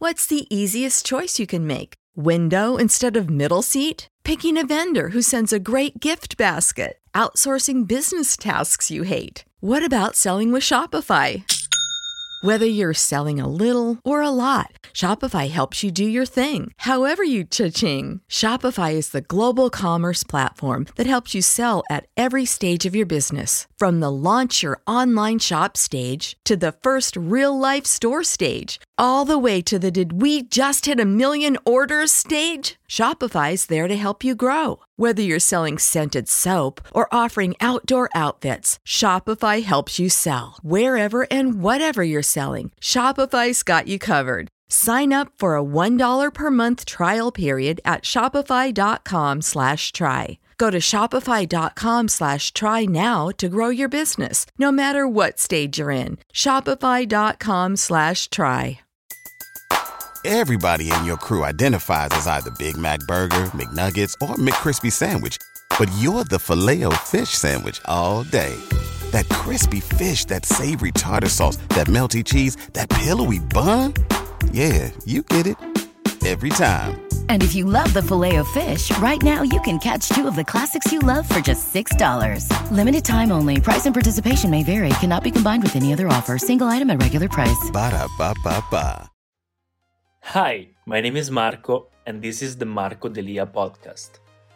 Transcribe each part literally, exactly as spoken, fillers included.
What's the easiest choice you can make? Window instead of middle seat? Picking a vendor who sends a great gift basket? Outsourcing business tasks you hate? What about selling with Shopify? Whether you're selling a little or a lot, Shopify helps you do your thing, however you cha-ching. Shopify is the global commerce platform that helps you sell at every stage of your business. From the launch your online shop stage to the first real-life store stage, all the way to the did we just hit a million orders stage. Shopify's there to help you grow. Whether you're selling scented soap or offering outdoor outfits, Shopify helps you sell. Wherever and whatever you're selling, Shopify's got you covered. Sign up for a one dollar per month trial period at shopify.com slash try. Go to shopify.com slash try now to grow your business, no matter what stage you're in. Shopify.com slash try. Everybody in your crew identifies as either Big Mac Burger, McNuggets, or McCrispy Sandwich. But you're the Filet-O-Fish Sandwich all day. That crispy fish, that savory tartar sauce, that melty cheese, that pillowy bun. Yeah, you get it. Every time. And if you love the Filet-O-Fish, right now you can catch two of the classics you love for just six dollars. Limited time only. Price and participation may vary. Cannot be combined with any other offer. Single item at regular price. Ba-da-ba-ba-ba. Hi, my name is Marco, and this is the Marco Delia podcast.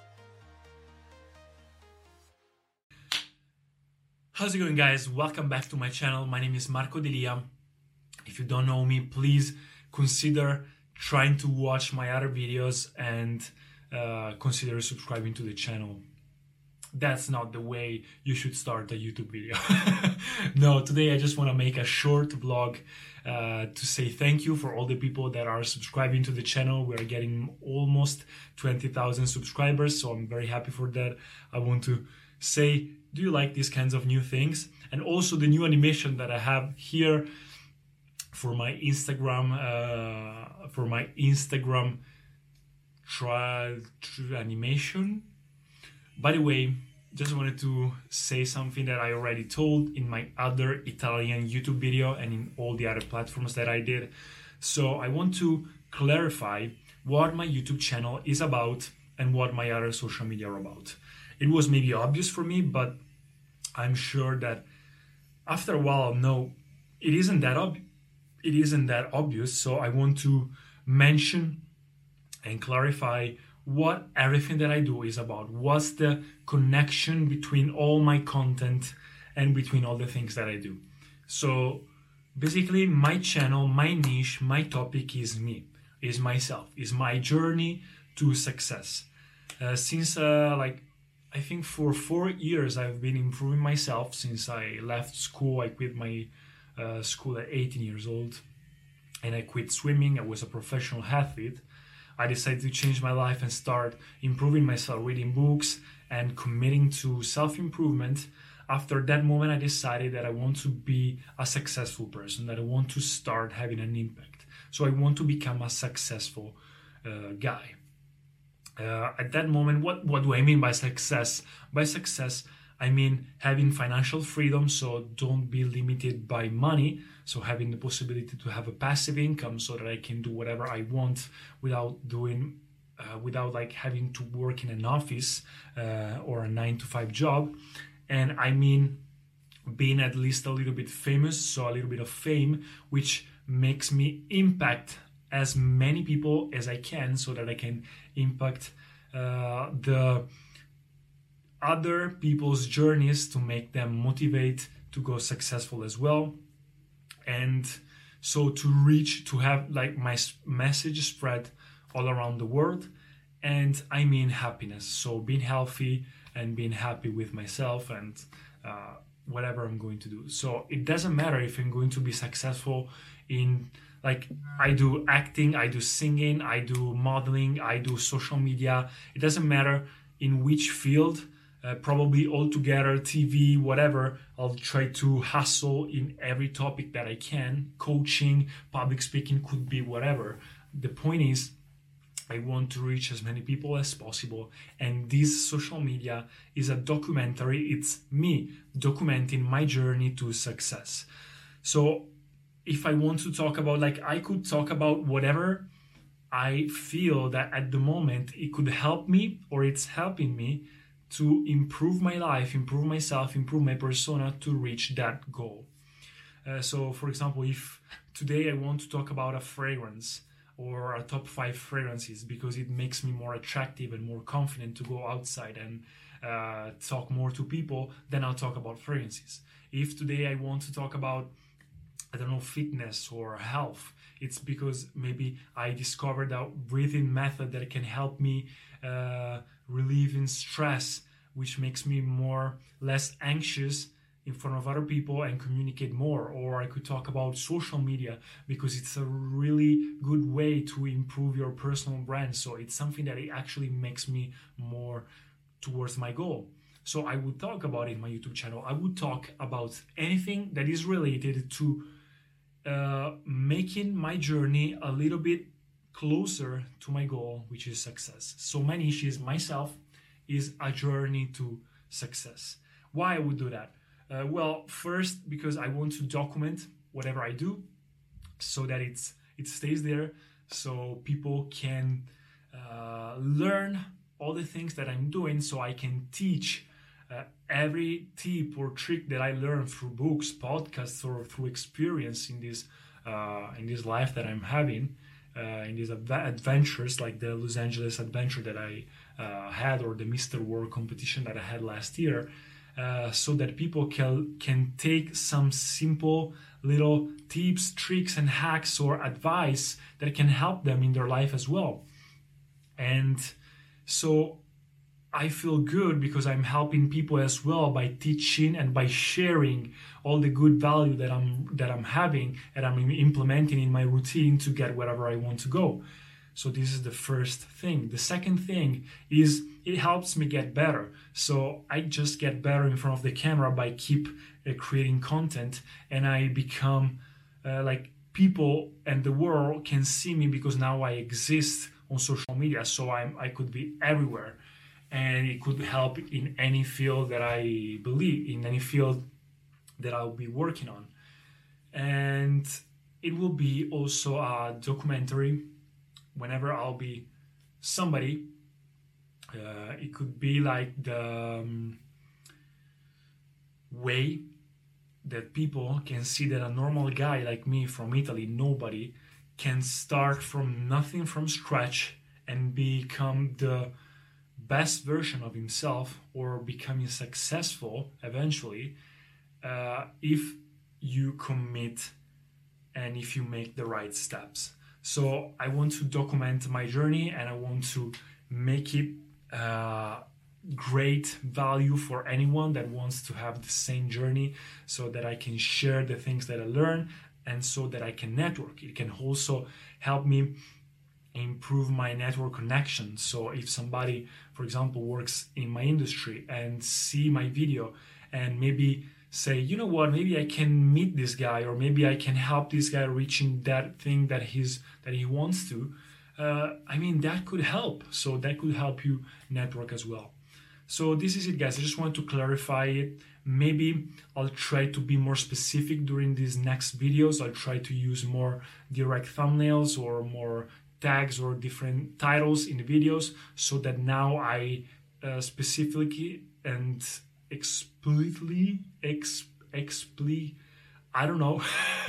How's it going, guys? Welcome back to my channel. My name is Marco Delia. If you don't know me, please consider trying to watch my other videos and uh, consider subscribing to the channel. That's not the way you should start a YouTube video. No, today I just want to make a short vlog uh, to say thank you for all the people that are subscribing to the channel. We're getting almost twenty thousand subscribers, so I'm very happy for that. I want to say, do you like these kinds of new things? And also the new animation that I have here for my Instagram, uh, for my Instagram trial animation. By the way, just wanted to say something that I already told in my other Italian YouTube video and in all the other platforms that I did. So I want to clarify what my YouTube channel is about and what my other social media are about. It was maybe obvious for me, but I'm sure that after a while, no, it isn't that ob- it isn't that obvious. So I want to mention and clarify what everything that I do is about. What's the connection between all my content and between all the things that I do. So basically my channel, my niche, my topic is me, is myself, is my journey to success. Uh, since uh, like, I think for four years I've been improving myself since I left school. I quit my uh, school at eighteen years old and I quit swimming. I was a professional athlete. I decided to change my life and start improving myself, reading books and committing to self-improvement. After that moment, I decided that I want to be a successful person, that I want to start having an impact. So I want to become a successful uh, guy. Uh, at that moment, what, what do I mean by success? By success, I mean having financial freedom, so don't be limited by money. So having the possibility to have a passive income so that I can do whatever I want without doing, uh, without like having to work in an office uh, or a nine to five job. And I mean being at least a little bit famous, so a little bit of fame, which makes me impact as many people as I can so that I can impact uh, the other people's journeys to make them motivate to go successful as well. And so to reach, to have like my message spread all around the world. And I mean happiness. So being healthy and being happy with myself and uh, whatever I'm going to do. So it doesn't matter if I'm going to be successful in, like, I do acting, I do singing, I do modeling, I do social media. It doesn't matter in which field. Uh, probably all together, T V, whatever, I'll try to hustle in every topic that I can. Coaching, public speaking, could be whatever. The point is, I want to reach as many people as possible. And this social media is a documentary. It's me documenting my journey to success. So if I want to talk about, like, I could talk about whatever I feel that at the moment it could help me, or it's helping me to improve my life, improve myself, improve my persona to reach that goal. Uh, so, for example, if today I want to talk about a fragrance or a top five fragrances because it makes me more attractive and more confident to go outside and uh, talk more to people, then I'll talk about fragrances. If today I want to talk about, I don't know, fitness or health, it's because maybe I discovered a breathing method that can help me uh, relieving stress, which makes me more less anxious in front of other people and communicate more. Or I could talk about social media because it's a really good way to improve your personal brand. So it's something that it actually makes me more towards my goal. So I would talk about it in my YouTube channel. I would talk about anything that is related to uh, making my journey a little bit closer to my goal, which is success. So my niche is myself, is a journey to success. Why I would do that? Uh, well, first, because I want to document whatever I do so that it's it stays there, so people can uh, learn all the things that I'm doing, so I can teach uh, every tip or trick that I learned through books, podcasts, or through experience in this uh, in this life that I'm having, uh, in these av- adventures like the Los Angeles adventure that I uh, had, or the Mister World competition that I had last year. Uh, so that people can can take some simple little tips, tricks, and hacks or advice that can help them in their life as well. And so I feel good because I'm helping people as well by teaching and by sharing all the good value that I'm that I'm having and I'm implementing in my routine to get wherever I want to go. So this is the first thing. The second thing is it helps me get better. So I just get better in front of the camera by keep uh, creating content, and I become uh, like people and the world can see me because now I exist on social media. So I'm, I could be everywhere, and it could help in any field that I believe, in any field that I'll be working on. And it will be also a documentary. Whenever I'll be somebody, uh, it could be like the um, way that people can see that a normal guy like me from Italy, nobody, can start from nothing, from scratch, and become the best version of himself, or becoming successful eventually, uh, if you commit and if you make the right steps. So I want to document my journey, and I want to make it uh, great value for anyone that wants to have the same journey, so that I can share the things that I learn, and so that I can network. It can also help me improve my network connection. So if somebody, for example, works in my industry and see my video and maybe say, you know what, maybe I can meet this guy, or maybe I can help this guy reaching that thing that he's that he wants to. Uh, I mean, that could help. So that could help you network as well. So this is it, guys. I just want to clarify it. Maybe I'll try to be more specific during these next videos. I'll try to use more direct thumbnails or more tags or different titles in the videos, so that now I uh, specifically and explicitly, ex, expli, I don't know,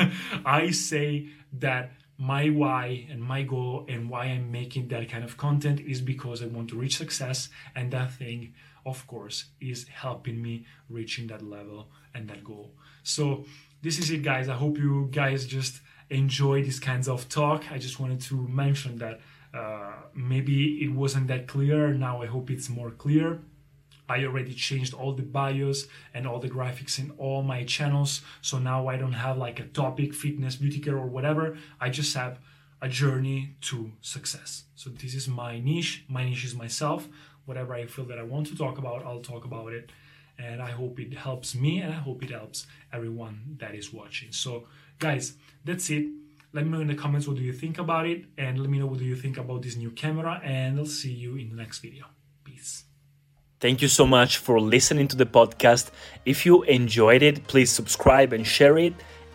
I say that my why and my goal and why I'm making that kind of content is because I want to reach success, and that thing, of course, is helping me reaching that level and that goal. So this is it, guys. I hope you guys just enjoy these kinds of talk. I just wanted to mention that uh, maybe it wasn't that clear. Now I hope it's more clear. I already changed all the bios and all the graphics in all my channels. So now I don't have like a topic, fitness, beauty care, or whatever. I just have a journey to success. So this is my niche. My niche is myself. Whatever I feel that I want to talk about, I'll talk about it. And I hope it helps me, and I hope it helps everyone that is watching. So guys, that's it. Let me know in the comments what do you think about it, and let me know what do you think about this new camera, and I'll see you in the next video. Peace. Thank you so much for listening to the podcast. If you enjoyed it, please subscribe and share it.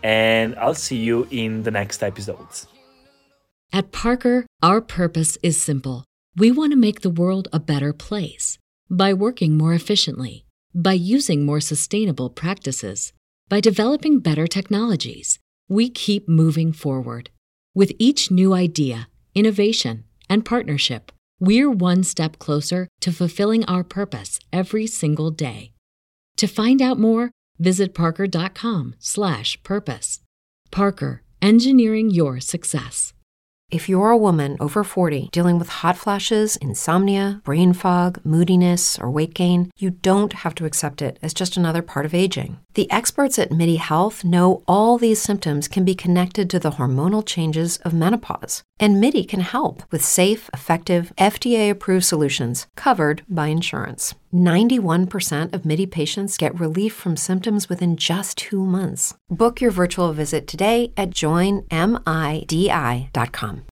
and I'll see you in the next episodes. At Parker, our purpose is simple. We want to make the world a better place by working more efficiently, by using more sustainable practices, by developing better technologies. We keep moving forward. With each new idea, innovation, and partnership, we're one step closer to fulfilling our purpose every single day. To find out more, visit parker.com slash purpose. Parker, engineering your success. If you're a woman over forty dealing with hot flashes, insomnia, brain fog, moodiness, or weight gain, you don't have to accept it as just another part of aging. The experts at MIDI Health know all these symptoms can be connected to the hormonal changes of menopause. And MIDI can help with safe, effective, F D A-approved solutions covered by insurance. ninety-one percent of MIDI patients get relief from symptoms within just two months. Book your virtual visit today at join midi dot com.